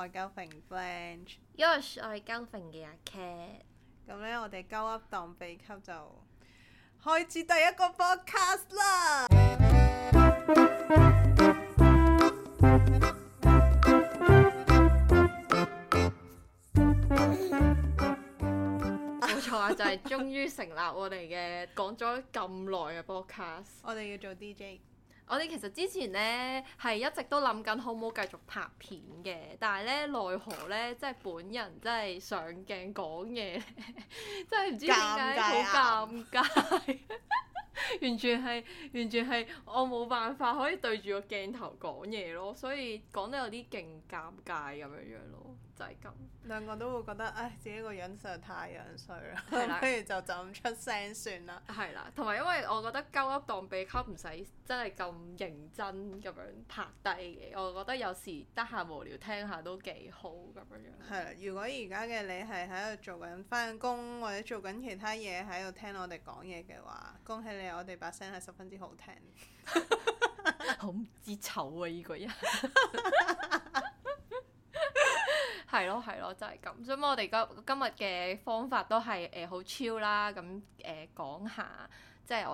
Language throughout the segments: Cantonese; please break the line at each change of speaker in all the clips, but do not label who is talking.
係鳩揈 Blanche。
Yosh，我係鳩揈嘅阿 Cat。
咁呢，我哋鳩噏當秘笈就開始第一個 podcast 啦。
冇錯啊，就係終於成立我哋嘅講咗咁耐嘅 podcast。
我哋要做 DJ。
我哋其實之前呢係一直都諗緊好唔好繼續拍片嘅，但係呢奈何呢，即係本人真係上鏡講嘢，真係唔知點解好尷尬，完全係我冇辦法可以對住個鏡頭講嘢咯，所以講得有啲勁尷尬咁樣樣咯，就係咁。
兩個都會覺得，唉，自己個樣實在太樣衰啦，
係啦
不如就咁出聲算啦。
係啦，同埋因為我覺得鳩噏當秘笈唔使真係咁認真咁樣拍低嘅，我覺得有時得閒無聊聽下都幾好咁樣樣。
係啦，如果而家嘅你係喺度做緊返工或者做緊其他嘢喺度聽我哋講嘢嘅話，恭喜你，我哋把聲係十分之好聽。
好唔知醜啊！依個人係咯，就係咁。所以我哋今日嘅方法都係好 chill 啦，咁講下即係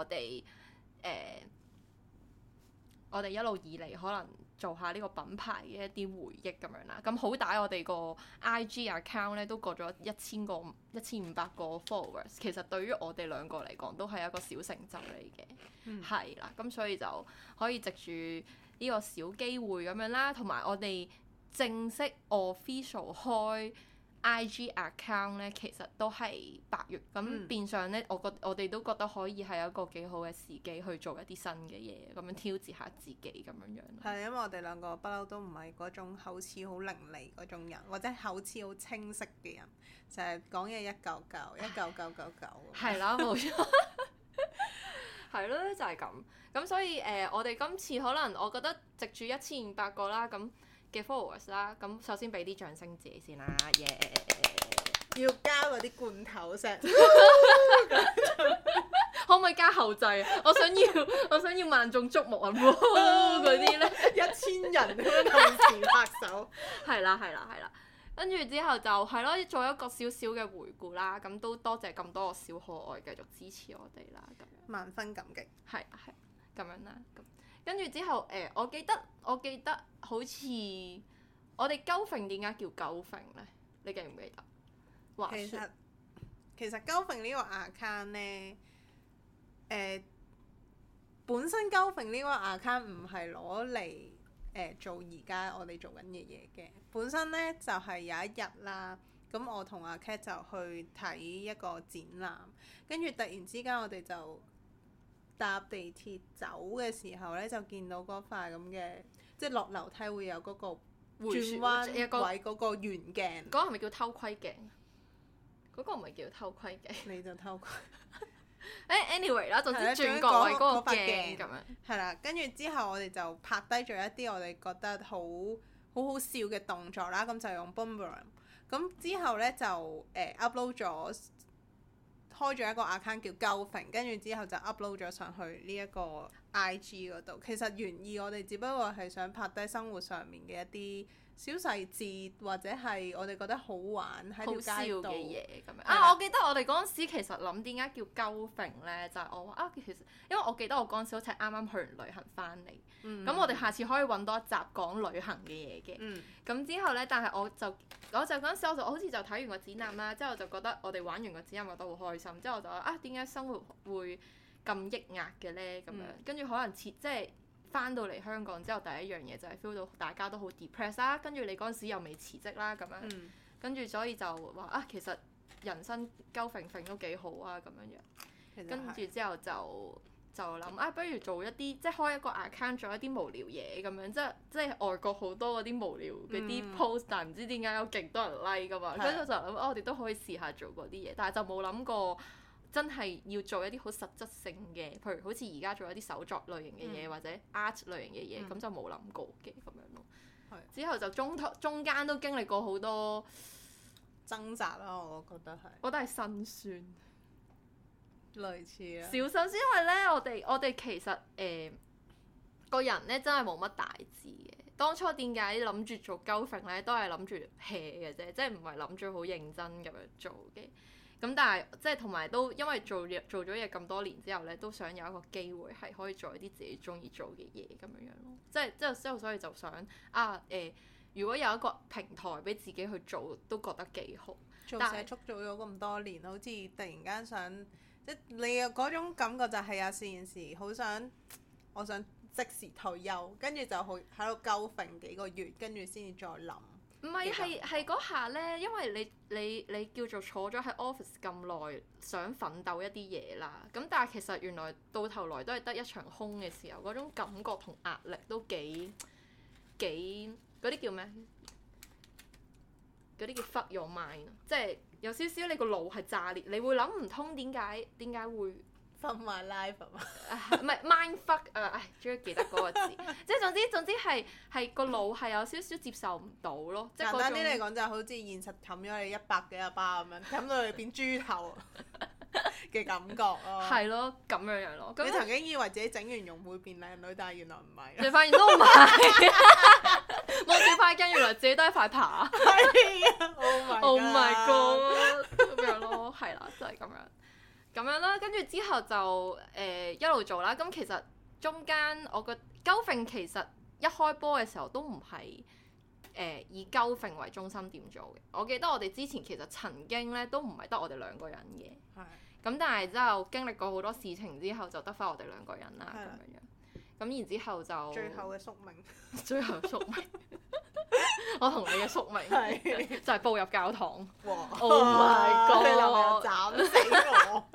我哋一路以嚟可能做下呢個品牌嘅一啲回憶咁樣啦。咁好歹我哋個 IG account 咧都過咗1500個 followers， 其實對於我哋兩個嚟講都係一個小成就嚟嘅，係啦。咁所以就可以藉住呢個小機會咁樣啦，同埋我哋正式 official 開 IG account 咧，其實都係8月，咁變相咧，我哋都覺得可以係一個幾好嘅時機去做一啲新嘅嘢，咁樣挑戰下自己咁樣樣。
係因為我哋兩個不嬲都唔係嗰種口齒好伶俐嗰種人，或者口齒好清晰嘅人，成日講嘢一嚿嚿19999。
係啦，冇錯。係咯，就係咁。咁所以我哋今次可能我覺得藉住1500個啦，咁嘅 followers 啦，咁首先俾啲掌聲自己先啦，耶、
要加嗰啲罐頭聲，
可唔可以加後製啊？我想要萬眾矚目啊！嗰啲咧
1000人咁樣同時拍手。
係啦，跟住之後就係咯，做一個少少嘅回顧啦。咁都多謝咁多個小可愛繼續支持我哋啦，咁樣
萬分感激。
係咁樣啦。跟住之後我記得好似我哋鳩揈點解叫鳩揈咧？你記唔記得？
其實鳩揈呢個 account 呢，本身鳩揈呢個 account 唔係攞嚟做而家我哋做緊嘅嘢嘅。本身呢，就係有一日啦，咁我同阿 Cat 就去睇一個展覽，跟住突然之間我哋就搭地鐵走嘅時候呢，就見到嗰塊咁嘅，即係落樓梯會有嗰個轉彎位嗰個圓鏡。
嗰個係咪叫偷窺鏡？嗰個唔係叫偷窺鏡。
你就偷窺。
anyway 啦，總之轉角位嗰個鏡咁樣。
係啦，跟住之後我哋就拍低咗一啲我哋覺得好好笑嘅動作啦，咁就用 Boomerang。咁之後呢，就upload 咗。開咗一個 account 叫鳩揈，跟住之後就 upload 咗上去呢一個 IG 嗰度。其實原意我哋只不過係想拍低生活上面嘅一啲小細節，或者係我哋覺得好玩喺條街度
嘅嘢咁樣。啊，我記得我哋嗰陣時其實諗點解叫鳩揈呢？就係我話其實因為我記得我嗰陣時好似係啱啱去完旅行翻嚟，咁我哋下次可以揾多一集講旅行嘅嘢嘅。咁之後呢，但係我就嗰陣時我好似就睇完個展覽啦，之後就覺得我哋玩完個展覽覺得好開心，之後我就話點解生活會咁抑壓嘅呢？咁樣跟住可能即係翻到嚟香港之後，第一樣嘢就係 feel 到大家都好 depressed 啦，跟住你嗰陣時又未辭職啦，咁樣跟住所以就話其實人生鳩揈揈都幾好啊，咁樣跟住之後就諗不如做一啲即係開一個 account 做一啲無聊嘢咁樣，即係外國好多嗰啲無聊嗰啲 post，但係唔知點解有勁多人 like 噶嘛，跟住就諗我哋都可以試下做嗰啲嘢，但係就冇諗過真係要做一啲好實質性嘅，譬如好似而家做一啲手作類型嘅嘢，或者 art 類型嘅嘢，咁就冇諗過嘅咁樣咯。之後就中間都經歷過好多
掙扎啦，我覺得係。
我覺得係辛酸。
類似啊，
小心先，因為咧，我哋其實個人咧真係冇乜大志嘅， 當初點解諗住做鳩揈咧，都係諗住 hea 嘅啫，即係唔係諗住好認真咁樣做嘅。咁但係即係同埋都因為做咗嘢咁多年之後咧，都想有一個機會係可以做一啲自己中意做嘅嘢咁樣樣咯。即係之後所以就想如果有一個平台俾自己去做，都覺得幾好。
做社畜做咗咁多年，好似突然間想，即你嘅嗰種感覺就係有件事好想，我想即時退休，跟住就去喺度鳩揈幾個月，跟住先至再諗。
唔係係嗰下咧，因為你叫做坐咗喺 office 咁耐，想奮鬥一啲嘢啦。咁但係其實原來到頭來都係得一場空嘅時候，嗰種感覺同壓力都幾嗰啲叫咩？嗰啲叫 fuck your mind， 即係有少少你個腦係炸裂，你會諗唔通點解會
fuck my life 啊嘛，
唔係 mind fuck 終於記得嗰個字，即係總之係個腦係有少少接受唔到咯。即係
簡單啲嚟講，就好似現實冚咗你100幾巴咁樣，冚到你變豬頭嘅感覺咯。
係咯，咁樣咯。
你曾經以為自己整完容會變靚女，但係原來唔係。
你發現都唔係，望住塊鏡，原來自己都係塊扒。
係啊！Oh my
god！咁樣咯，係啦，就係咁樣啦。跟住之後就一路做啦。咁其實中間我覺得鳩揈其實一開波嘅時候都唔係以鳩揈為中心點做嘅。我記得我哋之前其實曾經咧都唔係得我哋兩個人嘅。
係。
咁但係之後經歷過好多事情之後，就得翻我哋兩個人啦咁樣。咁然之後就
最後嘅宿命。最
後宿命。我同你嘅宿命就係步入教堂。
哇
！Oh my god！
你留我斬死我。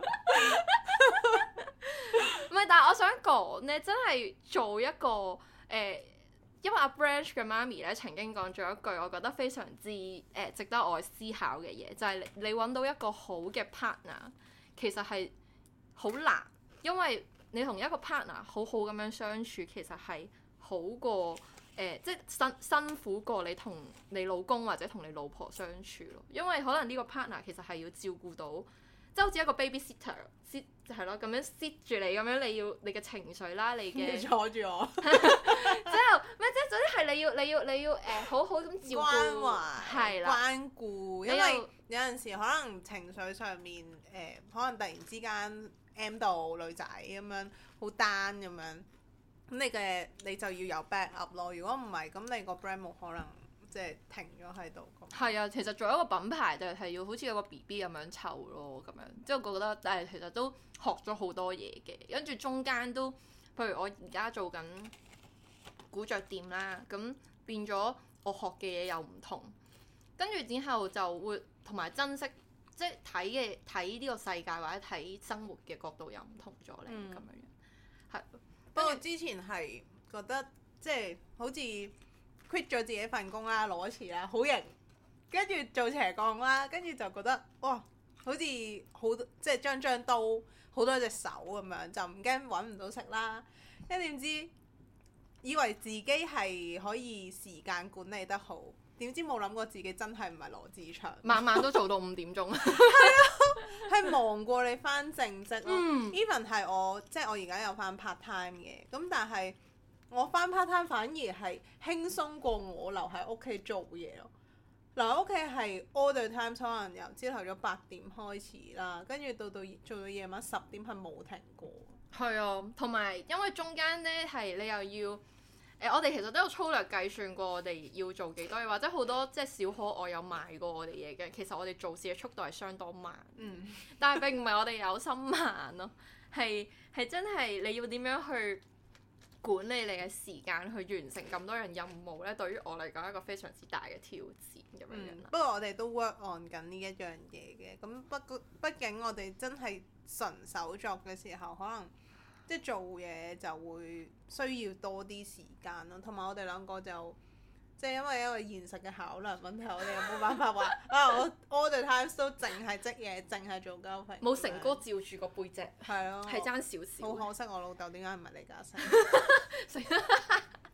唔係，但係我想講咧，真係做一個因為阿 Branch 嘅媽咪咧曾經講咗一句，我覺得非常之值得我思考嘅嘢，就係你揾到一個好嘅 partner。其實係好難，因為你同一個 partner 好好咁樣相處，其實係好過即係辛苦過你同你老公或者同你老婆相處咯。因為可能呢個 partner 其實係要照顧到，即係好似一個 babysitter，係咯，咁樣 sit 住你咁樣，你嘅情緒啦，你嘅
坐住我，
之後咩即係總之係你要好好咁照顧，
關懷，
係啦，
關顧，因為有陣時可能情緒上面可能突然之間 M 到女仔咁樣好 down 咁樣，咁你就要有 back up 咯。如果唔係，咁你個 brand 冇可能即係停咗喺度。
係啊，其實做一個品牌就係要好似有個 BB 咁樣湊咯，咁樣即係我覺得其實都學咗好多嘢嘅。跟住中間都，譬如我而家做緊古着店啦，咁變咗我學嘅嘢又唔同，跟住之後就會同埋珍惜，即係睇呢個世界或者睇生活嘅角度又唔同咗咧，咁樣樣係。
不過之前係覺得即係好似 quit 咗自己份工啦，攞錢啦，好型，跟住做斜槓啦，跟住就覺得哇，好似即係張刀好多隻手咁樣，就唔驚揾唔到食啦。跟住點知以為自己係可以時間管理得好，點知冇諗過自己真係唔係羅志祥，
晚晚都做到5點鐘。
係啊，係忙過你翻正職咯。Even 係我即係我而家有翻 part time 嘅，咁但係我翻 part time 反而係輕鬆過我留喺屋企做嘢咯。留喺屋企係 all the time，可能由朝頭早8點開始啦，跟住做到夜晚10點係冇停過。
係啊，同埋因為中間咧係你又要我哋其實都有粗略計算過我哋要做幾多嘢，或者好多即係小可愛有賣過我哋嘢嘅。其實我哋做事嘅速度係相當慢，但係並唔係我哋有心慢咯，係真係你要點樣去管理你嘅時間去完成咁多樣任務咧？對於我嚟講係一個非常之大嘅挑戰咁樣樣。
不過我哋都 work on 緊呢一樣嘢嘅，咁畢竟我哋真係純手作嘅時候，可能即係做嘢就會需要多啲時間咯。同埋我哋兩個就即係因為一個現實嘅考量問題，我哋又冇辦法話我 all the time 都淨係織嘢，淨係做交費。
冇成哥照住個背脊，
係咯，
係爭少少。
好可惜我老豆點解唔係李嘉誠？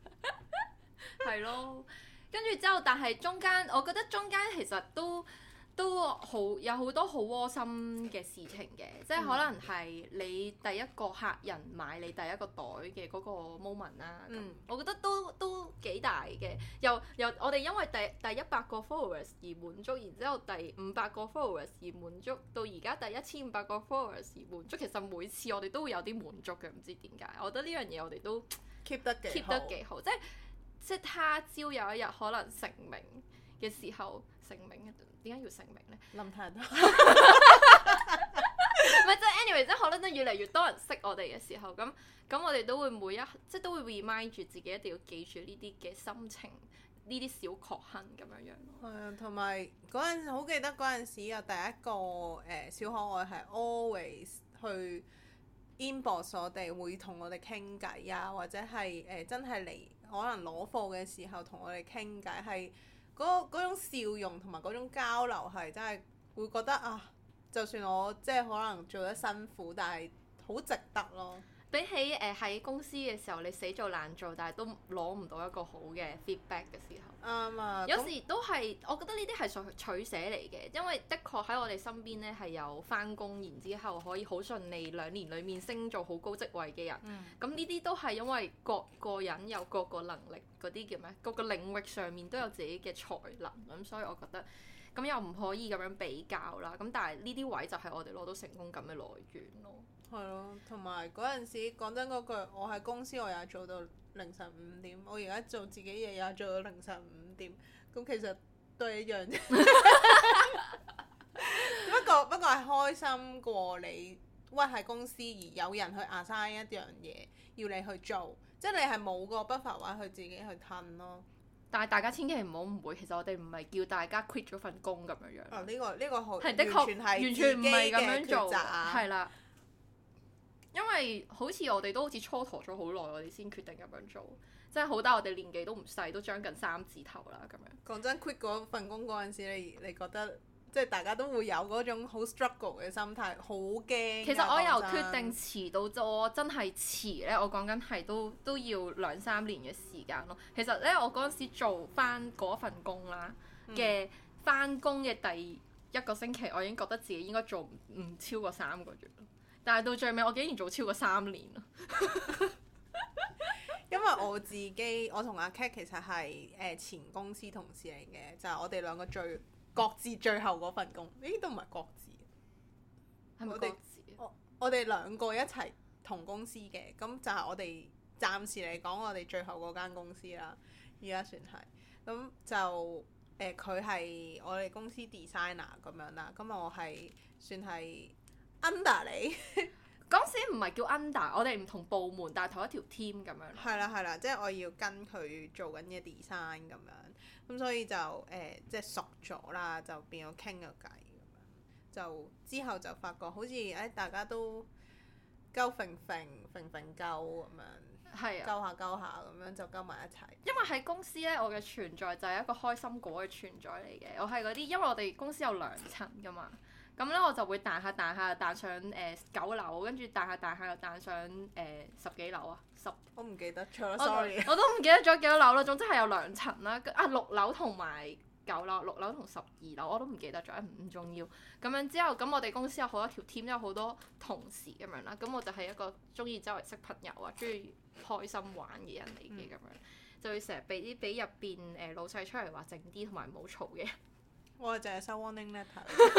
係咯，跟住之後，但係中間，我覺得中間其實都有好多好窩心嘅事情嘅，即係可能係你第一個客人買你第一個袋嘅嗰個 moment 啦。我覺得都幾大嘅。由我哋因為第100個 followers 而滿足，然之後第500個 followers 而滿足，到而家第1500個 followers 而滿足。其實每次我哋都會有啲滿足嘅，唔知點解。我覺得呢樣嘢我哋都
keep 得幾好，
即係他朝有一日可能成名嘅時候，成名點解要成名呢？
諗太多。唔
係，即係 anyway，即係可能都越嚟越多人識我哋嘅時候，咁我哋都會即係都會 remind 住自己一定要記住呢啲嘅心情，呢啲小確幸咁樣樣咯。
係啊，同埋嗰陣時好記得嗰陣時有第一個小可愛係 always 去 inbox 我哋，會同我哋傾偈啊，或者係真係嚟可能攞貨嘅時候同我哋傾偈，係嗰種笑容同埋嗰種交流係真係會覺得啊，就算我即係可能做得辛苦，但係好值得咯。
比起喺公司嘅時候你死做爛做，但係都攞唔到一個好嘅 feedback 嘅時候，
啱啊！
有時都係我覺得呢啲係取捨嚟嘅，因為的確喺我哋身邊呢係有返工，然之後可以好順利2年裡面升做好高職位嘅人。咁呢啲都係因為各個人有各個能力，嗰啲叫咩？各個領域上面都有自己嘅才能，咁所以我覺得咁又唔可以咁樣比較啦。咁但係呢啲位就係我哋攞到成功感嘅來源咯。
係咯，同埋嗰陣時講真嗰句，我喺公司我又做到凌晨5點，我而家做自己嘢又做到凌晨5點，咁其實都係一樣啫。不過係開心過你屈喺公司而有人去 assign 一樣嘢要你去做，即係你係冇個不法位去自己去褪咯。
但係大家千祈唔好誤會，其實我哋唔係叫大家 quit 咗份工咁樣樣。
呢個好
係的確完全唔係咁樣做，係啦。因為好似我哋都好似蹉跎咗好耐，我哋先決定咁樣做，即係好大我哋年紀都唔細，都將近3字頭啦咁樣。
講真 quit 嗰份工嗰陣時，你覺得即係大家都會有嗰種好 struggle 嘅心態，好驚。
其實我由決定辭到我真係辭呢，我講緊係都要2-3年嘅時間咯。其實呢，我嗰陣時做翻嗰份工啦嘅翻工嘅第1個星期，我已經覺得自己應該做唔超過3個月咯。但係到最尾，我竟然做超過3年咯。
因為我同阿 Kat 其實係前公司同事嚟嘅，就係我哋兩個各自最後嗰份工，都唔係各自，
係咪各自？
我哋2個一齊同公司嘅，咁就係我哋暫時嚟講，我哋最後嗰間公司啦，而家算係。咁就佢係我哋公司 designer 咁樣啦，咁我係算係under 你
嗰陣時唔係叫 under，我哋唔同部門，但係同一條 team 咁樣。
係啦，即係我要跟佢做緊嘅 design 咁樣，咁所以就即係熟咗啦，就變咗傾個偈咁樣。就之後就發覺好似大家都鳩揈揈鳩咁樣，係啊，鳩下咁樣就鳩埋一齊。
因為喺公司呢，我嘅存在就係一個開心果嘅存在嚟嘅。我係嗰啲，因為我哋公司有2層㗎嘛。咁咧我就會彈下彈上9樓，跟住彈下又彈上10幾樓啊
我唔記得咗 sorry。
我都唔記得咗幾多樓啦，總之係有2層啦。6樓同埋9樓，6樓同12樓我都唔記得咗，唔重要。咁樣之後，咁我哋公司有好多條 team，有好多同事咁樣啦。咁我就係一個中意周圍識朋友啊，中意開心玩嘅人嚟嘅咁樣，就會成日俾入邊老細出嚟話靜啲同埋唔好嘈嘅。
我淨係收 warning letter。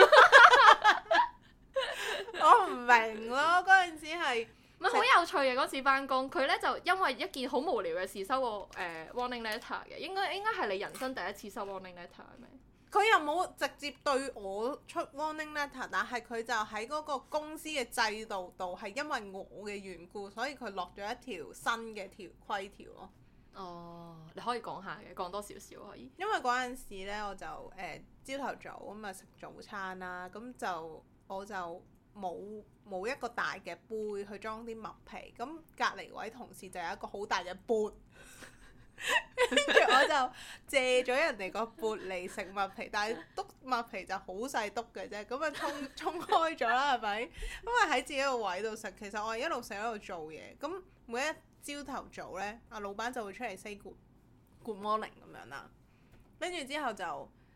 我唔明咯，嗰陣時係
咪好有趣嘅嗰次返工，佢咧就因為一件好無聊嘅事收個warning letter 嘅，應該係你人生第一次收 warning letter 係咪？
佢又冇直接對我出 warning letter， 但係佢就喺嗰個公司嘅制度度係因為我嘅緣故，所以佢落咗一條新嘅規條咯。
哦，你可以講下嘅，講多少少可以。
因為嗰陣時咧，我就朝頭早咁啊食早餐啦，咁就我就冇一個大嘅杯去裝啲麥皮，咁隔離位同事就有一個好大嘅缽，跟住我就借咗人哋個缽嚟食麥皮，但係篤麥皮就好細篤嘅啫，咁啊衝開咗啦，係咪？因為喺自己個位度食，其實我係一路食一路做嘢，咁每一朝頭早呢，阿老闆就會出嚟 say good morning 咁樣啦，跟住之後就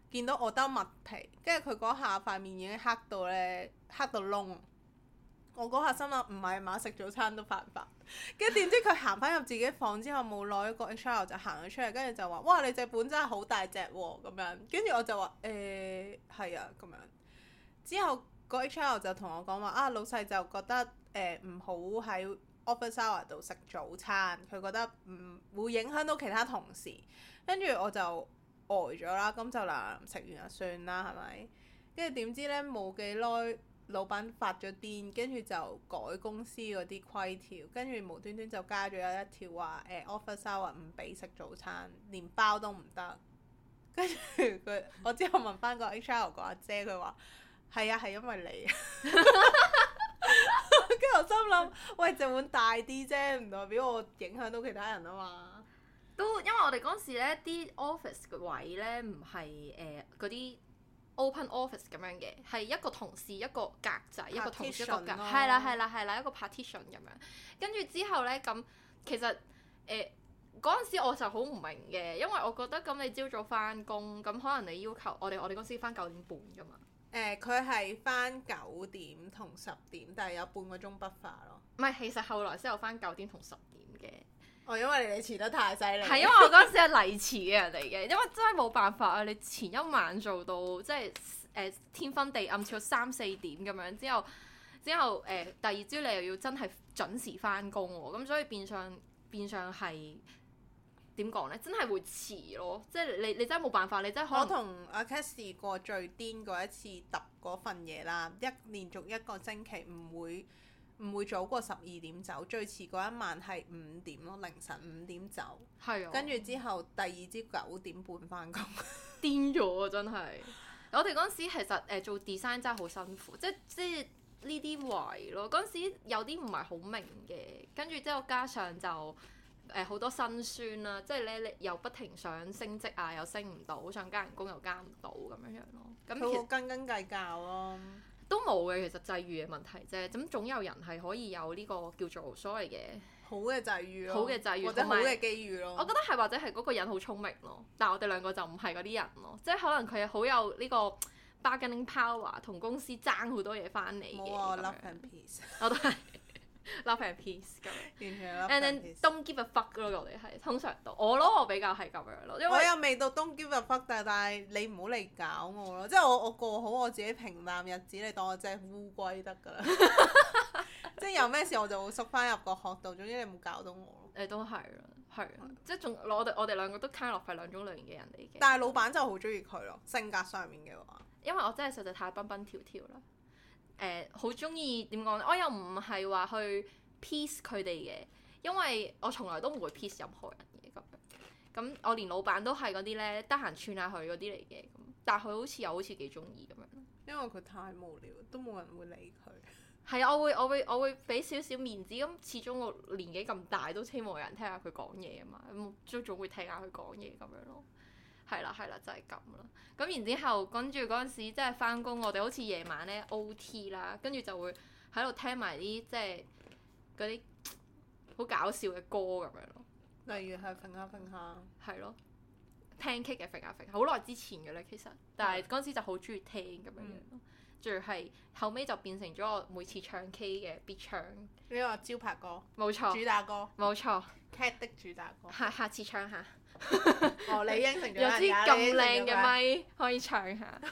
見到我兜麥皮，跟住佢嗰下塊面已經黑到咧，黑到窿。我嗰下心諗唔係嘛，食早餐都犯法。跟住點知佢行翻入自己房之後冇耐，個 HR 就行咗出嚟，跟住就話：哇！你隻本真係好大隻喎咁樣。跟住我就話：係啊咁樣。之後個 HR 就同我講話：啊，老細就覺得唔好喺 office hour 度食早餐，佢覺得唔會影響到其他同事。跟住我就呆咗啦，咁就嗱食完就算啦，係咪？跟住點知呢？冇幾耐，老闆發咗癲，跟住就改公司嗰啲規條，跟住無端端就加咗一條話office hour 唔俾食早餐，連包都唔得。跟住我之後問翻個 HR 個阿姐，佢話係啊，係因為你。跟住我心諗，喂，隻碗大啲啫，唔代表我影響到其他人啊嘛。
都因為我哋嗰陣時咧，啲 office 嘅位咧唔係嗰啲 open office 咁樣嘅，係一個同事一個格仔，一個同事一個格，係啦，一個 partition 咁樣。跟住之後咧，咁其實嗰陣時我就好唔明嘅，因為我覺得咁你朝早翻工，咁可能你要求我哋嗰陣時翻9點半㗎嘛。
佢係翻9點同10點，但係有半個鐘buffer咯。
唔係，其實後來先有翻9點同10點嘅。
哦，因為你哋遲得太犀利。
係因為我嗰陣時係嚟遲嘅人嚟嘅，因為真係冇辦法啊！你前一晚做到即係天昏地暗，至到3、4點咁樣，之後第二朝你又要真係準時翻工喎，咁所以變相係點講呢？真係會遲咯，即係你真係冇辦法，你真係可能。
我同阿 Cat 試過最癲嗰一次揼嗰份嘢啦，連續1個星期唔會早過12點走，最遲嗰一晚係5點咯，凌晨5點走。
係啊。
跟住之後第二朝9點半翻工。
癲咗啊！真係。我哋嗰陣時其實做 design 真係好辛苦，即係呢啲位咯。嗰陣時有啲唔係好明嘅，跟住之後加上就好多辛酸啦，即係你又不停想升職啊，又升唔到，想加人工又加唔到咁樣咯。咁
佢好斤計較咯。
都冇嘅，其實際遇嘅問題啫。咁總有人係可以有呢個叫做所謂嘅
好嘅際遇咯，
好嘅際遇
或者好嘅機遇咯。
我覺得係或者係嗰個人好聰明咯，但係我哋兩個就唔係嗰啲人咯，即係可能佢好有呢個 bargaining power， 同公司爭好多嘢翻嚟嘅。
冇啊，love and peace。
我都係 love and peace 咁。
完全 love
and
and
then
peace。
don't give a fuck 咯，我哋係通常都我比較係咁樣咯，因為
我又未到 don't give a fuck，但係你唔好嚟搞我咯，即係我過好我自己平淡日子，你當我隻烏龜得㗎啦。即係有咩事我就會縮翻入個殼度，總之你冇搞到我咯。
都係啦，係即係仲我哋兩個都 kind of 係兩種類型嘅人嚟嘅。
但係老闆就好中意佢咯，性格上面嘅話。
因為我真係實在太蹦蹦跳跳啦。好中意點講呢？我又唔係話去 peace 佢哋嘅，因為我從來都唔會 peace 任何人嘅咁。咁我連老闆都係嗰啲呢，得閒串下佢嗰啲嚟嘅。咁但係佢好似幾中意咁樣。
因為佢太無聊，都冇人會理佢。
係啊，我會俾少少面子，咁始終我年紀咁大，都希望有人聽下佢講嘢啊嘛，咁都總會聽下佢講嘢咁樣咯。係啦，就係咁啦。咁然之後，跟住嗰陣時即係翻工，我哋好似夜晚咧 OT 啦，跟住就會喺度聽埋啲即係嗰啲好搞笑嘅歌咁樣咯。
例如係揈下揈下。係
咯。聽 K 嘅揈下揈下，好耐之前嘅咧其實，但係嗰陣時就好中意聽咁樣樣咯。仲要係後尾就變成咗我每次唱 K 嘅必唱。
你話招牌歌？
冇錯。
主打歌？
冇錯。
Cat 的主打歌。
下次唱下。
哦，你應承咗
有支咁靚嘅咪可以唱下。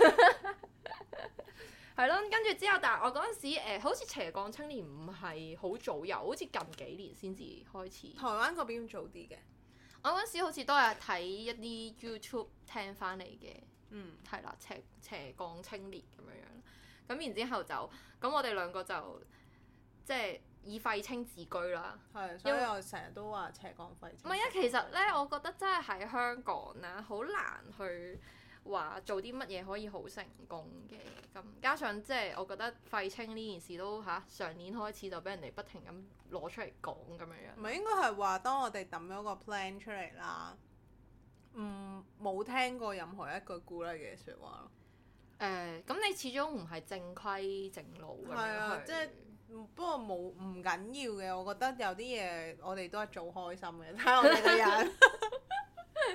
係咯，跟住之後，但係我嗰陣時好似斜槓青年唔係好早有，好似近幾年先至開始。台
灣嗰邊早啲嘅。
我嗰陣時好似都係睇一啲 YouTube 聽翻嚟嘅。係啦，斜槓青年咁樣樣。咁然之後就，咁我哋兩個就即係以廢青自居啦。
係，所以我成日都話斜槓廢青。
唔係啊，其實咧，我覺得真係喺香港啦，好難去話做啲乜嘢可以好成功嘅。咁加上即係我覺得廢青呢件事都上年開始就俾人哋不停咁攞出嚟講咁樣樣。
唔係應該係話，當我哋抌咗個 plan 出嚟啦。冇聽過任何一句鼓勵嘅説話咯。
咁你始終唔係正規正路咁樣。係
啊，即係不過唔緊要嘅，我覺得有啲嘢我哋都係做開心嘅，睇我哋個人。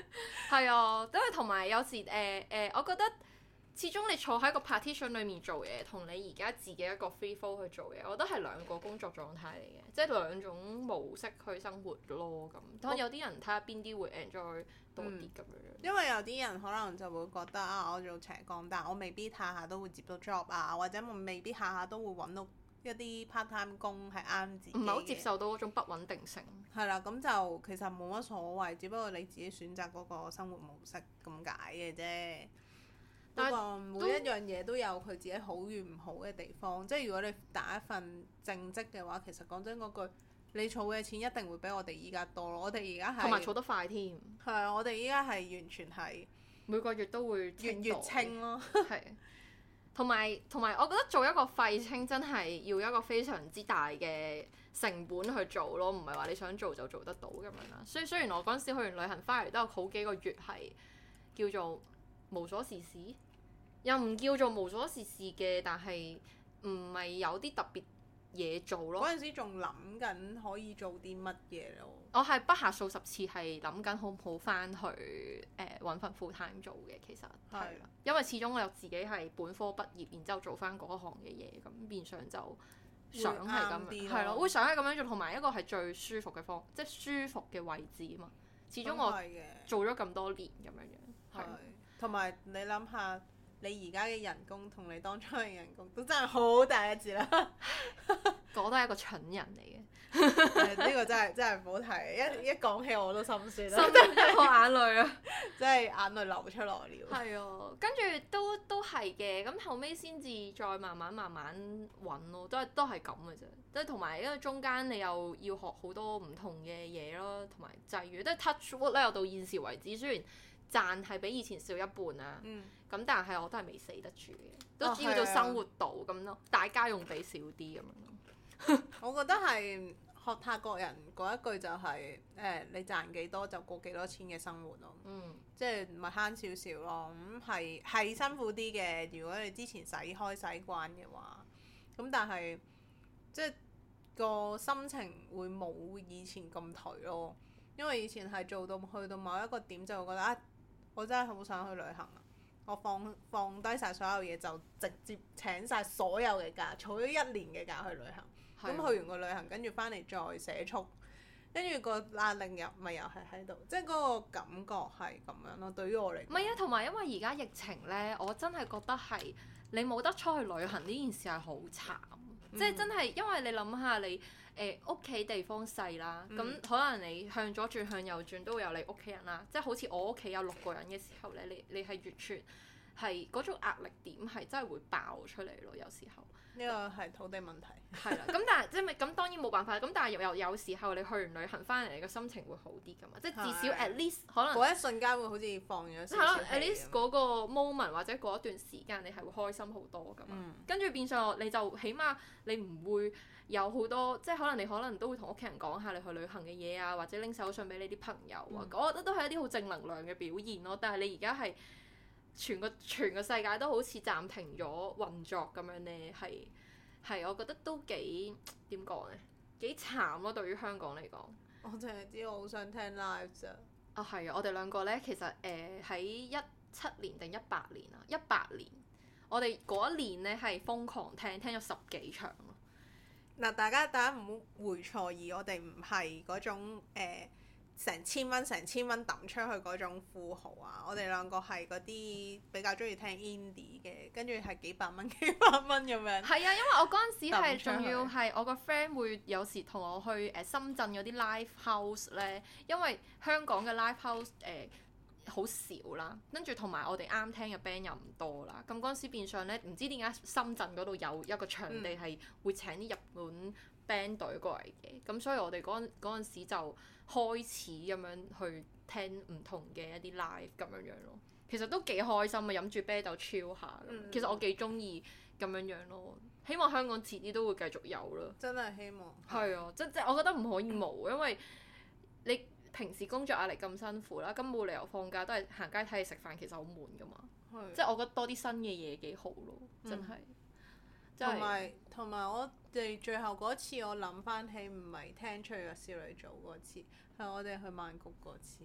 係啊，因為同埋有時我覺得始終你坐喺個 partition 裡面做嘢，同你而家自己一個 free flow 去做嘢，我覺得係兩個工作狀態嚟嘅，即係兩種模式去生活咯咁。當然有啲人睇下邊啲會 enjoy 多啲咁樣。
因為有啲人可能就會覺得啊，我做斜槓，但我未必下下都會接到 job 啊，或者我未必下下都會揾到一啲 part time 工係啱自己嘅。
唔係好接受到嗰種不穩定性。
係啦，咁就其實冇乜所謂，只不過你自己選擇嗰個生活模式咁解嘅啫。不過每一樣嘢都有佢自己好與唔好嘅地方，即係如果你打一份正職嘅話，其實講真嗰句，你儲嘅錢一定會比我哋依家多咯。我哋而家係
同埋儲得快添。
係啊，我哋依家係完全係
每個月都會
月清咯。
係。同埋，我覺得做一個廢青真係要一個非常之大嘅成本去做咯，唔係話你想做就做得到咁樣啦。所以雖然我嗰陣時去完旅行翻嚟都有好幾個月係叫做無所事事，又唔叫做無所事事嘅，但係唔係有啲特別嘢做咯。
嗰陣時仲諗緊可以做啲乜嘢咯。
我係不下數十次係諗緊好唔好翻去揾份 full time 做嘅，其實係啦，因為始終我又自己係本科畢業，然之後做翻嗰行嘅嘢，咁變相就想係咁樣，係咯，會想係咁樣做，同埋一個係最舒服嘅方，即係舒服嘅位置啊嘛。始終我做咗咁多年咁樣樣，係。
同埋你諗下，你而家嘅人工同你當初嘅人工都真係好大一截啦。
我都係一個蠢人嚟嘅。
呢個真係唔好提，一講起我都心酸啦。
真係我眼淚啊！
真係眼淚流出來了。
係啊，跟住都係嘅，咁後尾先至再慢慢揾咯，都係咁嘅啫。即係同埋因為中間你又要學好多唔同嘅嘢咯，同埋際遇，即係 touch wood 咧，我到現時為止雖然賺係比以前少一半啊，咁但係我都係未死得住嘅，都只要做生活到咁咯，大家用比少啲咁樣咯。
我覺得係學泰國人嗰一句就係你賺幾多就過幾多錢嘅生活咯，即係唔係慳少少咯，咁係辛苦啲嘅。如果你之前使慣嘅話，咁但係即係個心情會冇以前咁頹咯，因為以前係做到去到某一個點就會覺得啊，我真係好想去旅行啊！我放低晒所有嘢，就直接請晒所有嘅假，儲咗1年嘅假去旅行。咁去完個旅行，跟住翻嚟再寫速，跟住個壓力又係喺度，即係嗰個感覺係咁樣咯。對於我嚟講，
唔係啊，同埋因為而家疫情呢，我真係覺得係你冇得出去旅行呢件事係好慘，即係真係因為你諗下你屋企地方細啦，咁可能你向左轉向右轉都會有你屋企人啦，即係好似我屋企有6個人嘅時候呢，你係完全係嗰種壓力點係真係會爆出嚟咯，有時候。
呢個係土地問題。
係啦，咁但係即係咁當然冇辦法，咁但係有時候你去完旅行翻嚟，你個心情會好啲㗎嘛，即係至少 at least 可能
嗰一瞬間會好似放咗少少氣。
at least 嗰個 moment 或者嗰一段時間你係會開心好多㗎嘛。跟住變相你就起碼你唔會有好多，即係可能都會同屋企人講下你去旅行嘅嘢啊，或者拎手信俾你啲朋友啊，我覺得都係一啲好正能量嘅表現咯。但係你而家係全個世界都好似暫停咗運作咁樣呢，係我覺得都幾點講呢？幾慘咯，對於香港嚟講。
我淨係知我好想聽 live 咋。
啊係啊，我哋兩個呢，其實喺17年定18年啊，18年，我哋嗰一年呢係瘋狂聽咗10幾場咯。
嗱，大家唔好回錯意，我哋唔係嗰種成千蚊抌出去嗰種富豪啊！我哋兩個係嗰啲比較中意聽 indie 嘅，跟住係幾百蚊咁樣。
係啊，因為我嗰陣時係仲要係我個 friend 會有時同我去深圳嗰啲 live house 咧，因為香港嘅 live house 好少啦，跟住同埋我哋啱聽嘅 band 又唔多啦，咁嗰陣時變相咧，唔知點解深圳嗰度有一個場地係會請啲日本 band 隊過嚟嘅，咁所以我哋嗰陣時就開始咁樣去聽唔同嘅一啲 live 咁樣咯，其實都幾開心啊，飲住啤酒 chill 下，其實我幾中意咁樣咯，希望香港遲啲都會繼續有咯。
真係希望。係
啊，即我覺得唔可以冇，因為你平時工作壓力咁辛苦啦，咁冇理由放假都係行街睇戲食飯，其實好悶噶嘛。即我覺得多啲新嘅嘢幾好咯，真係。
同埋我哋最後嗰次，我諗翻起唔係聽《吹嘅少女組》嗰次，係我哋去曼谷嗰次。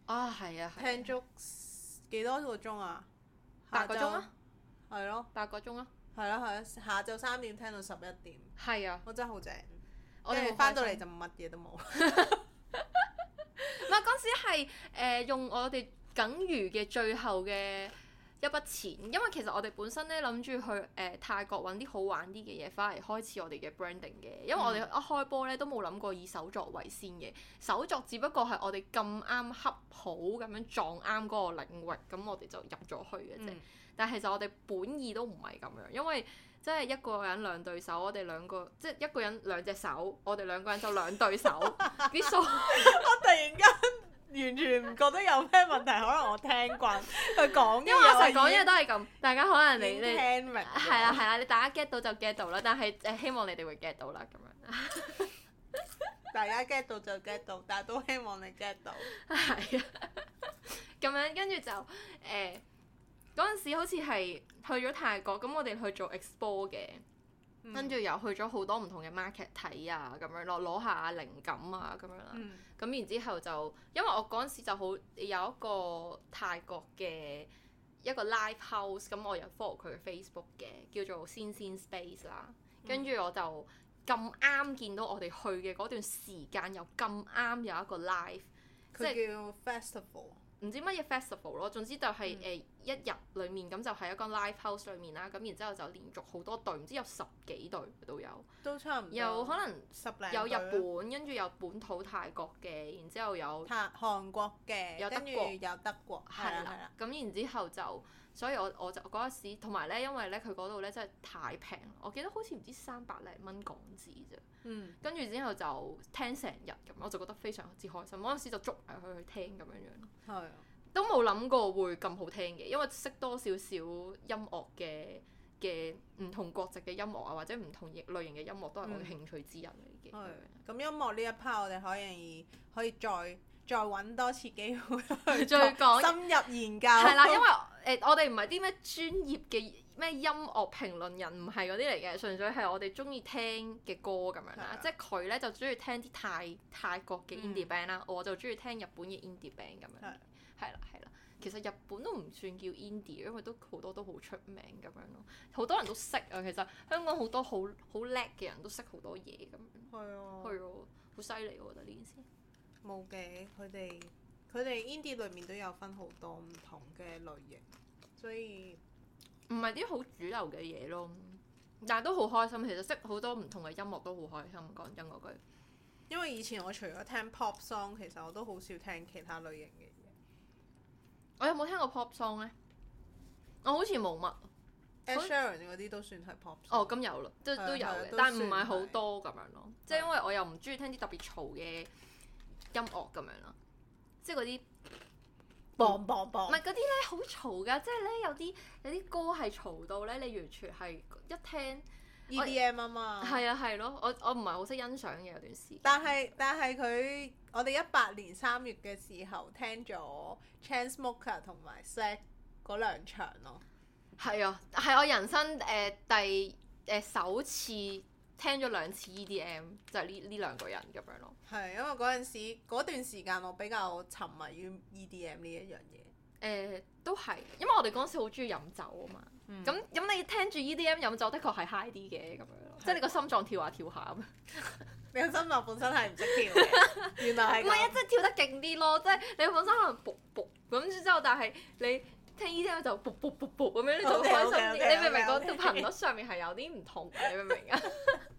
啊，係啊，
聽足幾多個鐘啊
？8個鐘啊？
係咯
，8個鐘啊？
係咯係咯，下晝3點聽到11點。
係啊，
我真係好正。
我哋
翻到嚟就乜嘢都冇。
唔係嗰陣時係用我哋僅餘嘅最後嘅一筆錢，因為其實我哋本身咧諗住去泰國揾啲好玩啲嘅嘢，翻嚟開始我哋嘅 branding 嘅。因為我哋一開波咧都冇諗過以手作為先嘅，手作只不過係我哋咁啱恰好咁樣撞啱嗰個領域，咁我哋就入咗去嘅啫。但係其實我哋本意都唔係咁樣，因為即係一個人兩對手，我哋兩個即係一個人兩隻手，我哋兩個人就兩對手啲數。
我突然間完全唔覺得有咩問題，可能我聽慣佢講嘅嘢，
因為我成日講嘢都係咁，大家可能你
聽明
係啦係啦，你大家 get 到就 get 到啦，但係希望你哋會 get 到啦咁樣。
大家 get 到就 get 到，但係都希望你 get 到。
係啊，咁樣跟住就嗰陣時好似係去咗泰國，咁我哋去做 expo 嘅，跟住又去咗好多唔同嘅 market 睇啊，咁樣攞下靈感啊咁樣啦。咁然之後就因為我嗰陣時就好有一個泰國嘅一個 live house，咁我有 follow 佢嘅 Facebook 嘅，叫做仙仙 Space 啦。跟住我就咁啱見到我哋去嘅嗰段時間，又咁啱有一個 live， 即係
叫 festival。
唔知乜嘢 festival 咯，總之就係一日裡面咁就係一個 live house 裡面啦，咁然之後就連續好多隊，唔知有10幾隊都有，
都差唔多，
有可能
10零
有日本，跟住有本土泰國嘅，然之後有
韓國嘅，
有德國，
有德國，係啦，
咁然之後就，所以我就嗰陣時，同埋咧，因為咧佢嗰度咧真係太平，我記得好似唔知300零蚊港紙啫。跟住之後就聽成日咁，我就覺得非常之開心。嗰陣時就捉埋佢去聽咁樣樣。
係啊。
都冇諗過會咁好聽嘅，因為識多少少音樂嘅唔同國籍嘅音樂啊，或者唔同類型嘅音樂都係我嘅興趣之一嚟嘅。
咁音樂呢一 part 我哋可以再揾多次機會去
再講
深入研究。
係啦，因為我哋唔係啲咩專業嘅咩音樂評論人，唔係嗰啲嚟嘅，純粹係我哋中意聽嘅歌咁樣啦。即係佢咧就中意聽啲泰國嘅 indie band 啦，我就中意聽日本嘅 indie band 咁樣。係啦，其實日本都唔算叫 indie，因為都好多都好出名咁樣咯，好多人都識啊。其實香港好多好叻嘅人都識好多嘢咁樣。係啊，好犀利我覺得呢件事。
冇嘅，佢哋 indie 裏面都有分好多唔同嘅類型，所以
唔係啲好主流嘅嘢咯。但係都好開心，其實識好多唔同嘅音樂都好開心。講真嗰句，
因為以前我除咗聽 pop song，其實我都好少聽其他類型嘅嘢。
我有冇聽過 pop song 咧？我好似冇乜。
Ed Sheeran 嗰啲都算係 pop song。
哦，咁有啦，都有嘅，但係唔係好多咁樣咯。即係因為我又唔中意聽啲特別嘈嘅音樂咁樣咯，即係嗰啲
砰砰砰。
唔係嗰啲咧好嘈㗎，即係咧有啲歌係嘈到咧，你完全係一聽
EDM 啊嘛。係
啊係咯，我唔係好識欣賞嘅有段時間。
但係我哋18年3月嘅時候聽咗 Chainsmokers 同埋 Sleg 嗰2場咯。係
啊，係我人生首次聽咗2次 EDM，就係呢2個人咁樣咯。係
因為嗰段時間我比較沉迷於 EDM 呢一樣嘢。
都係，因為我哋嗰陣時好中意飲酒啊嘛。咁你聽住 EDM 飲酒，的確係 high 啲嘅咁樣咯，即係你個心臟跳下跳下咁。
你個心臟本身係唔識跳嘅，原來係咁。
唔係啊，即係跳得勁啲咯，即係你本身可能卜卜咁之後，但係你聽 EDM 就卜卜卜卜咁樣，你就開心啲。你明唔明嗰條頻率上面係有啲唔同嘅？你明唔明啊？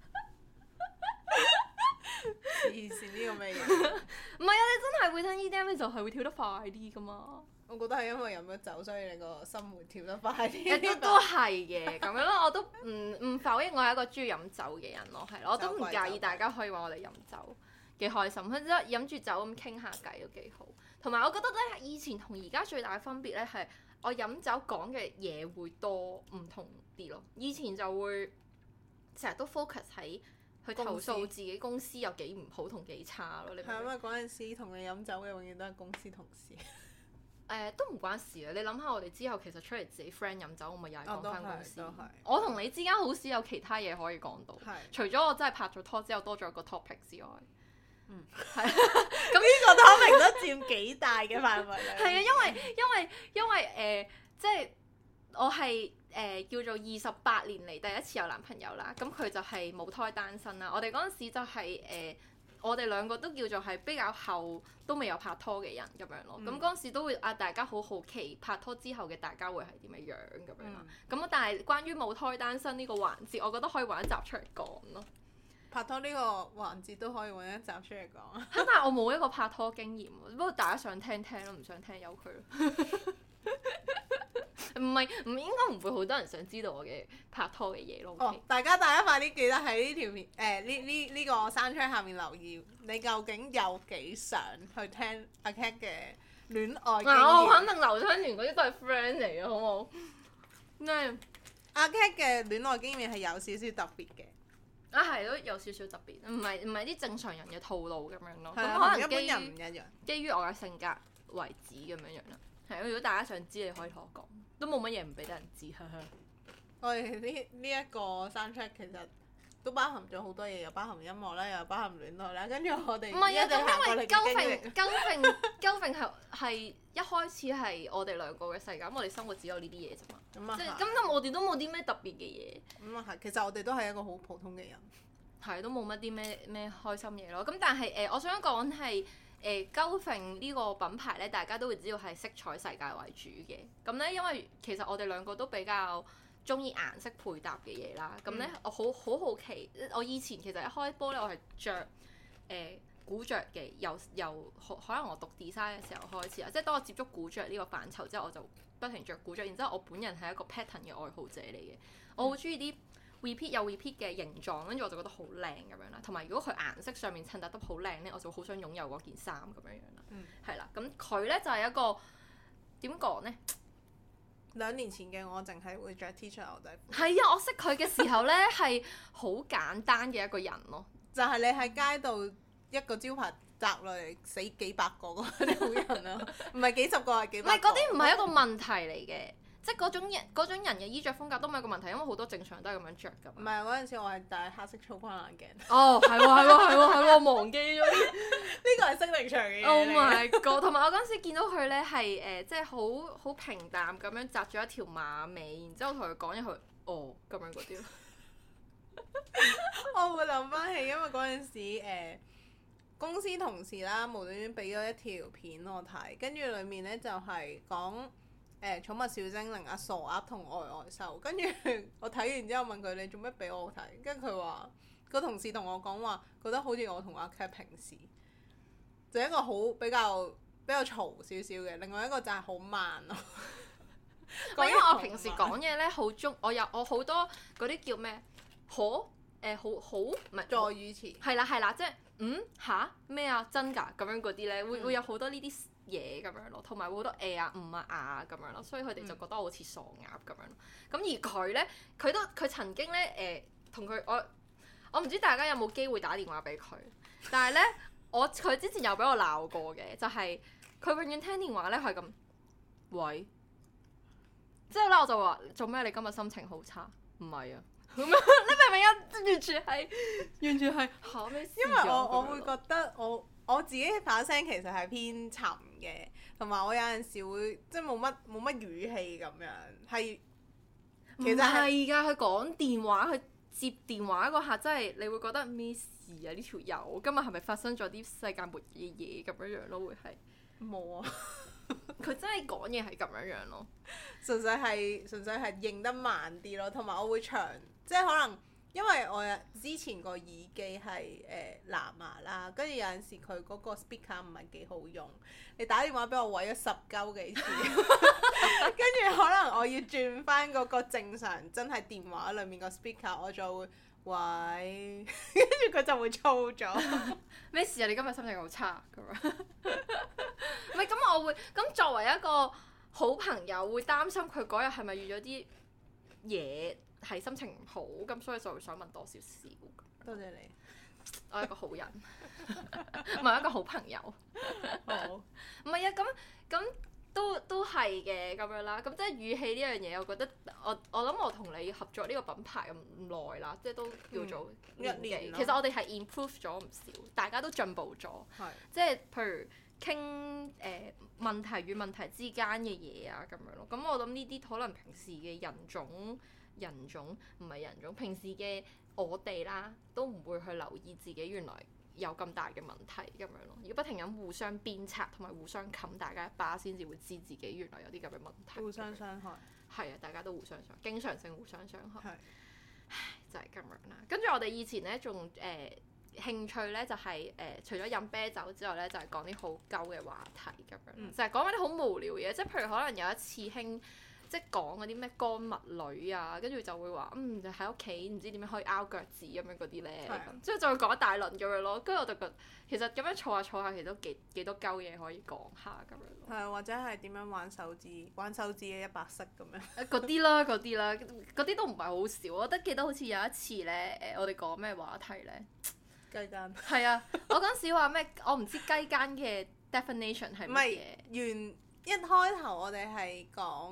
黐線呢個咩嘢？
唔係啊，你真係會聽 EDM，你就係會跳得快啲噶嘛。
我覺得係因為飲咗酒，所以你個心會跳得快啲。一啲
都係嘅，咁樣咯，我都唔否認我係一個中意飲酒嘅人咯，係咯，我都唔介意大家可以話我哋飲酒幾開心，即係飲住酒咁傾下偈都幾好。同埋我覺得咧，以前同而家最大嘅分別咧係我飲酒講嘅嘢會多唔同啲咯。以前就會成日都 focus 喺去投訴自己公司有幾唔好同幾差咯。你明唔明？係
因為嗰陣時同你飲酒嘅永遠都係公司同事。
都唔關事啊！你諗下，我哋之後其實出嚟自己 friend 飲酒，我咪又係講翻公司。我同你之間好少有其他嘢可以講到，除咗我真係拍咗拖之後多咗個 topic 之外， 係
咁呢個 topic 都佔幾大嘅範圍啦。
係啊，因為即係我係叫做28年嚟第一次有男朋友啦，咁佢就係母胎單身啦。我哋嗰陣時就係我哋兩個都叫做係比較後都未有拍拖嘅人咁樣咯。咁嗰陣時都會大家好好奇拍拖之後嘅大家會係點樣咁樣啦。咁但係關於母胎單身呢個環節，我覺得可以揾一集出嚟講咯。
拍拖呢個環節都可以揾一集出嚟講。
但係我冇一個拍拖經驗，不過大家想聽聽咯，唔想聽由佢咯。唔應該唔會好多人想知道我嘅拍拖嘅嘢咯。
大家快啲記得喺呢條片呢個山窗下面留言，你究竟有幾想去聽阿 Cat 嘅戀愛經驗？
我肯定劉春元嗰啲都係 friend 嚟嘅，好冇？咩？
阿 Cat 嘅戀愛經驗係有少少特別嘅。
係都有少少特別，唔係啲正常人嘅套路咁樣咯。
咁
可能
一般人唔一樣。基
於我嘅性格為止咁樣啦。係，如果大家想知，你可以同我講，都冇乜嘢唔俾得人知。
我哋呢一個 soundtrack 其實都包含咗好多嘢，又包含音樂啦，又包含戀愛啦，跟住我哋
唔係啊，咁因為
鳩
揈係一開始係我哋兩個嘅世界，咁我哋生活只有呢啲嘢啫嘛。即係咁我哋都冇啲咩特別嘅嘢。
咁啊係，其實我哋都係一個好普通嘅人。
係，都冇乜啲咩開心嘢咯。咁但係我想講係鳩揈呢個品牌咧，大家都會知道係色彩世界為主嘅。咁咧，因為其實我哋兩個都比較中意顏色配搭嘅嘢啦。咁咧，我好奇，我以前其實一開波咧，我係着古着嘅，由可能我讀 design 嘅時候開始啊，即係當我接觸古着呢個範疇之後，我就不停着古着。然之後我本人係一個 pattern 嘅愛好者嚟嘅，我好中意啲repeat 有 repeat 嘅形狀，跟住我就覺得好靚咁樣啦。同埋如果佢顏色上面襯搭得好靚咧，我就好想擁有嗰件衫咁樣樣啦。係啦，咁佢咧就係一個點講咧
？2年前嘅我淨係會着 T 恤牛仔褲。
係啊，我識佢嘅時候咧係好簡單嘅一個人咯。
就係你喺街度一個招牌擲落嚟死幾百個嗰啲好人啊，唔係幾十個係幾百個。
唔係嗰啲唔係一個問題嚟嘅。即係嗰種人嘅衣着風格都唔係一個問題，因為好多正常人都係咁樣着㗎。
唔係嗰陣時，我係戴黑色粗框眼鏡。
哦，係喎，我忘記咗
呢個係適齡場嘅嘢。
Oh my god！同埋我嗰陣時見到佢咧係即係好平淡咁樣紮咗一條馬尾，然之後同佢講一句咁樣嗰啲咯。
我會諗翻起，因為嗰陣時公司同事啦，無端端俾咗一條片我睇，跟住裡面咧就係講寵物小精靈阿傻鴨同呆呆獸，跟住我睇完之後問佢你做咩俾我睇，跟住佢話個同事同我講話覺得好似我同阿 Cat 平時就一個好比較嘈少少嘅，另外一個就係好慢咯。
因為我平時講嘢咧好我好多嗰啲叫咩好唔係
助語詞。
係啦，即係嚇咩啊真㗎咁樣嗰啲咧，會有好多呢啲嘢咁樣咯，同埋會好多啊咁樣咯，所以佢哋就覺得我好似傻鴨咁樣咯。咁而佢咧，佢曾經咧同佢我唔知大家有冇機會打電話俾佢，但係咧佢之前有俾我鬧過嘅，就係佢永遠聽電話咧係咁喂，之後咧我就話做咩你今日心情好差？唔係啊，咁樣你明唔明啊？完全係嚇咩事？
因為我會覺得我自己把聲其實係偏沉嘅，同埋我有陣時會即係冇乜語氣咁樣，係其實
係㗎。佢講電話，佢接電話嗰下真係你會覺得咩事啊？呢條友今日係咪發生咗啲世界末日嘅嘢咁樣樣咯？會係冇啊！佢真係講嘢係咁樣樣咯，
純粹係認得慢啲咯，同埋我會長，即係可能。因為我之前個耳機係藍牙啦，跟住有陣時佢嗰個 speaker 唔係幾好用，你打電話俾我毀咗10鳩幾次，跟住可能我要轉翻嗰個正常真係電話裡面個 speaker，我就會喂，跟住佢就會燥咗。
咩事啊？你今日心情好差咁樣？唔係咁，我會咁作為一個好朋友，會擔心佢嗰日係咪遇咗啲嘢？係心情唔好，咁所以就會想問多少少。
多謝你，
我係一個好人，唔係一個好朋友。好，唔係啊，咁都係嘅咁樣啦。咁即係語氣呢樣嘢，我覺得我諗我同你合作呢個品牌咁耐啦，即係都叫做年幾。
一年啦
其實我哋係 improve 咗唔少，大家都進步咗。
係
即係譬如傾問題與問題之間嘅嘢啊咁樣咯。咁我諗呢啲可能平時嘅人種唔係人種，平時嘅我哋啦，都唔會去留意自己原來有咁大嘅問題咁樣咯。要不停咁互相鞭策同埋互相冚大家一巴，先至會知自己原來有啲咁嘅問題。
互相傷害。
係啊，大家都互相傷害，經常性互相傷害。
係
就係咁樣啦。跟住我哋以前咧仲興趣咧就係、除咗飲啤酒之外咧，就係講啲好鳩嘅話題咁樣，就係講嗰啲好無聊嘢，即係譬如可能有一次興即係講嗰啲咩乾物女啊，跟住就會話就喺屋企唔知點樣可以拗腳趾咁樣嗰啲咧，之後就會講一大輪咁樣咯。跟住我就覺得其實咁樣坐下，其實都幾多鳩嘢可以講下咁樣咯。
係或者係點樣玩手指嘅100式咁樣。
嗰啲啦，嗰啲都唔係好少。我覺得記得好似有一次咧，我哋講咩話題咧？
雞姦。
係啊，我嗰陣時話咩？我唔知雞姦嘅 definition 係乜嘢。
一開頭我哋係講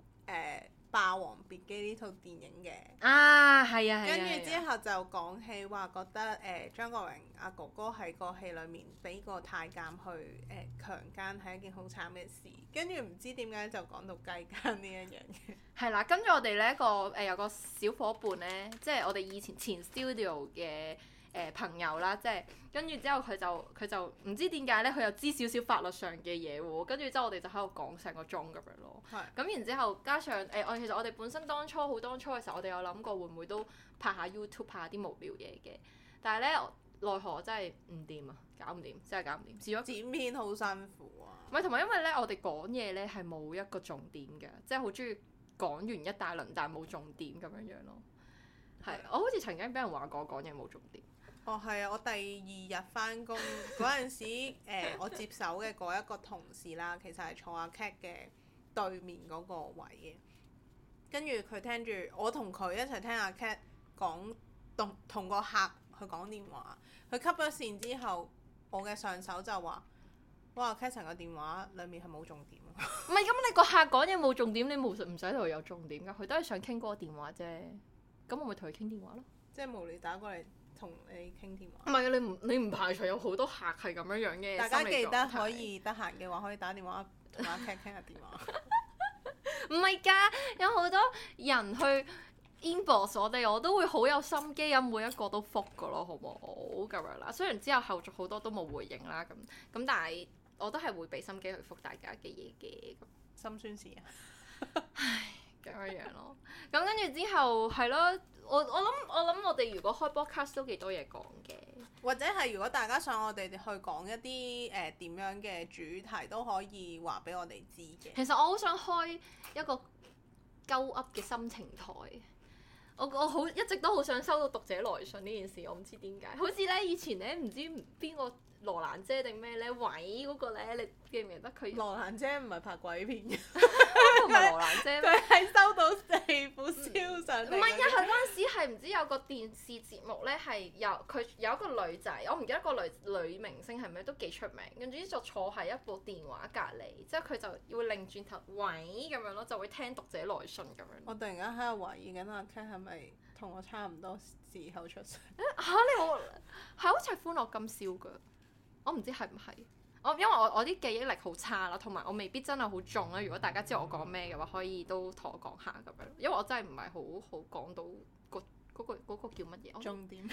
《霸王別姬》呢套電影嘅。
啊，係啊，係啊。
跟住之後就講起話覺得張國榮阿哥哥喺個戲裡面俾個太監去強姦係一件好慘嘅事。跟住唔知點解就講到雞姦呢一樣嘢。係
啦，跟住我哋咧有個小伙伴咧，即係我哋以前 studio 嘅。朋友啦，即係跟住之後佢就唔知點解咧，佢又知少少法律上嘅嘢喎，跟住之後我哋就喺度講成個鐘咁樣咯。咁然之後加上其實我哋本身當初嘅時候，我哋有諗過會唔會都拍下 YouTube 拍下啲無聊嘢嘅，但係咧奈何真係唔掂啊，搞唔掂，真係搞唔掂。試咗
剪片好辛苦啊。
唔係同埋因為咧，我哋講嘢咧係冇一個重點嘅，即係好中意講完一大輪，但係冇重點咁樣咯。係，我好似曾經俾人話過講嘢冇重點。
哦，係啊！我第2日返工嗰陣時，我接手嘅嗰一個同事啦，其實係坐阿 Cat 嘅對面嗰個位嘅。跟住佢聽住我同佢一齊聽阿 Cat 講同個客去講電話。佢 cut 咗線之後，我嘅上手就話：哇 Cat 成個電話裡面係冇重點啊！
唔係咁，你個客講嘢冇重點，你唔使同佢有重點㗎。佢都係想傾嗰個電話啫。咁我咪同佢傾電話咯。
即係無聊打過嚟。同你傾電話。
唔係你唔排除有好多客係咁樣嘅。
大家記得可以得閒嘅話，可以打電話同阿 Cat 傾下電話。
唔係㗎，有好多人去 inbox 我哋，我都會好有心機咁每一個都覆㗎咯，好唔好咁樣啦？雖然之後後續好多都冇回應啦，咁但係我都係會俾心機去覆大家嘅嘢嘅。
心酸事啊！
唉，咁樣咯。咁跟住之後係咯。我諗我哋如果開 podcast 都幾多嘢講嘅，
或者係如果大家想我哋去講一啲點樣嘅主題，都可以話俾我哋知嘅。
其實我好想開一個鳩噏嘅心情台，我一直都好想收到讀者來信呢件事，我唔知點解。好似咧以前咧唔知邊個羅蘭姐定咩咧，偉嗰個咧，你記唔記得佢？
羅蘭姐唔係拍鬼片嘅，
唔係羅蘭姐咩？
佢係收到4副燒上嚟。
唔係啊，佢嗰陣時係唔知有個電視節目咧，係佢有一個女仔，我唔記得個女明星係咩，都幾出名。跟住就坐喺一部電話隔離，之後佢就要擰轉頭喂咁樣咯，就會聽讀者來信咁樣。
我突然間喺度懷疑緊阿 Cat 係咪同我差唔多時候出世？
你好似係歡樂今宵㗎。我唔知係唔係，因為我啲記憶力好差啦，同埋我未必真係好中啦。如果大家知道我講咩嘅話，可以都同我講下咁樣。因為我真係唔係好講到嗰個叫乜嘢？
重點。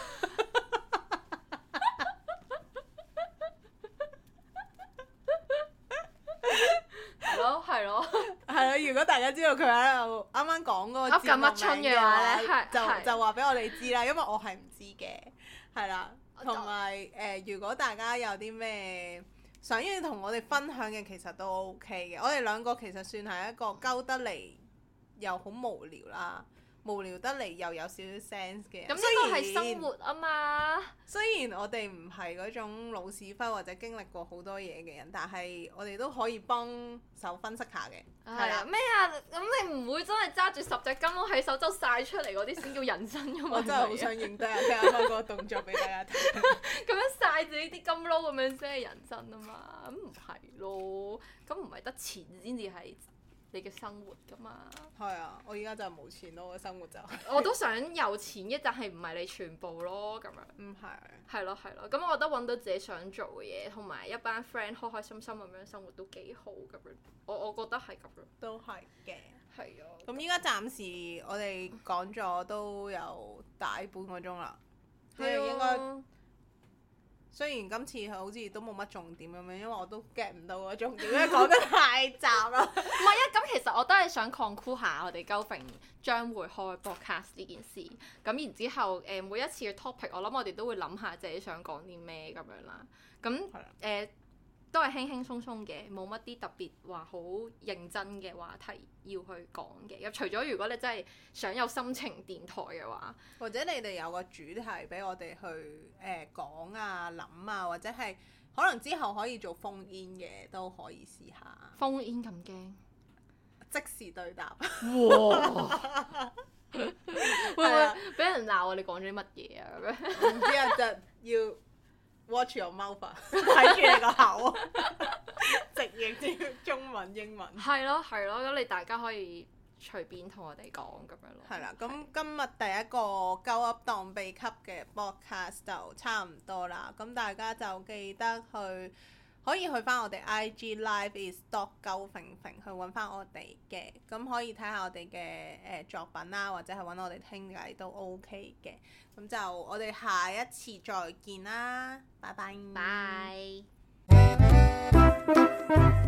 係咯。
係咯，如果大家知道佢喺度啱啱講嗰個節目名嘅話咧，就話俾我哋知啦，因為我係唔知嘅，係啦。同埋如果大家有啲咩想要同我哋分享嘅，其實都 OK 嘅。我哋兩個其實算係一個鳩得嚟又好無聊啦， 無聊得嚟又有少少 sense 嘅人。
咁呢個係生活啊嘛。
雖然我哋唔係嗰種老屎忽或者經歷過好多嘢嘅人，但係我哋都可以幫手分析下嘅。係啦，
咩啊？咁你唔會真係揸住10隻金撈喺手周曬出嚟嗰啲先叫人生㗎嘛？
我真係好想認得啊！聽下嗰個動作俾大家睇。
咁樣曬自己啲金撈咁樣先係人生啊嘛？咁唔係咯，咁唔係得錢先至係你嘅生活㗎嘛？
係啊，我而家就冇錢咯，我嘅生活就
我都想有錢嘅，但係唔係你全部咯，咁樣。
唔係。
係咯係咯，咁我覺得揾到自己想做嘅嘢，同埋一班 friend 開開心心咁樣生活都幾好咁樣。我覺得係咁樣。
都係嘅。
係啊。
咁依家暫時我哋講咗都有大半個鐘啦，即係應該。雖然今次好似都冇乜重點咁樣，因為我都 get 唔到個重點，因為講得太雜啦。
唔係啊，咁其實我都係想 conclude 下我哋鳩揈將會開 podcast 呢件事。咁然之後每一次嘅 topic，我諗我哋都會諗下自己想講啲咩咁樣啦。咁都係輕輕鬆鬆嘅，冇乜啲特別話好認真嘅話題要去講嘅。咁除咗如果你真係想有心情電台嘅話，
或者你哋有個主題俾我哋去講啊、諗啊，或者係可能之後可以做phone in嘅都可以試下。
phone in 咁驚？
即時對答。
哇！會唔會俾人鬧我哋講咗啲乜嘢啊？咁樣
唔知啊，就要 watch your mouth 啊，睇住你個口，直譯啲中文英文。
係咯係咯，咁你大家可以隨便同我哋講咁樣咯。
係啦，咁今日第一個鳩噏當秘笈嘅 podcast 就差唔多啦，咁大家就記得可以去翻我哋 IG live is dot 鳩揈揈去揾翻我哋嘅，咁可以睇下我哋嘅作品啦，或者係揾我哋傾偈都 OK 嘅，咁就我哋下一次再見啦，拜拜。
拜。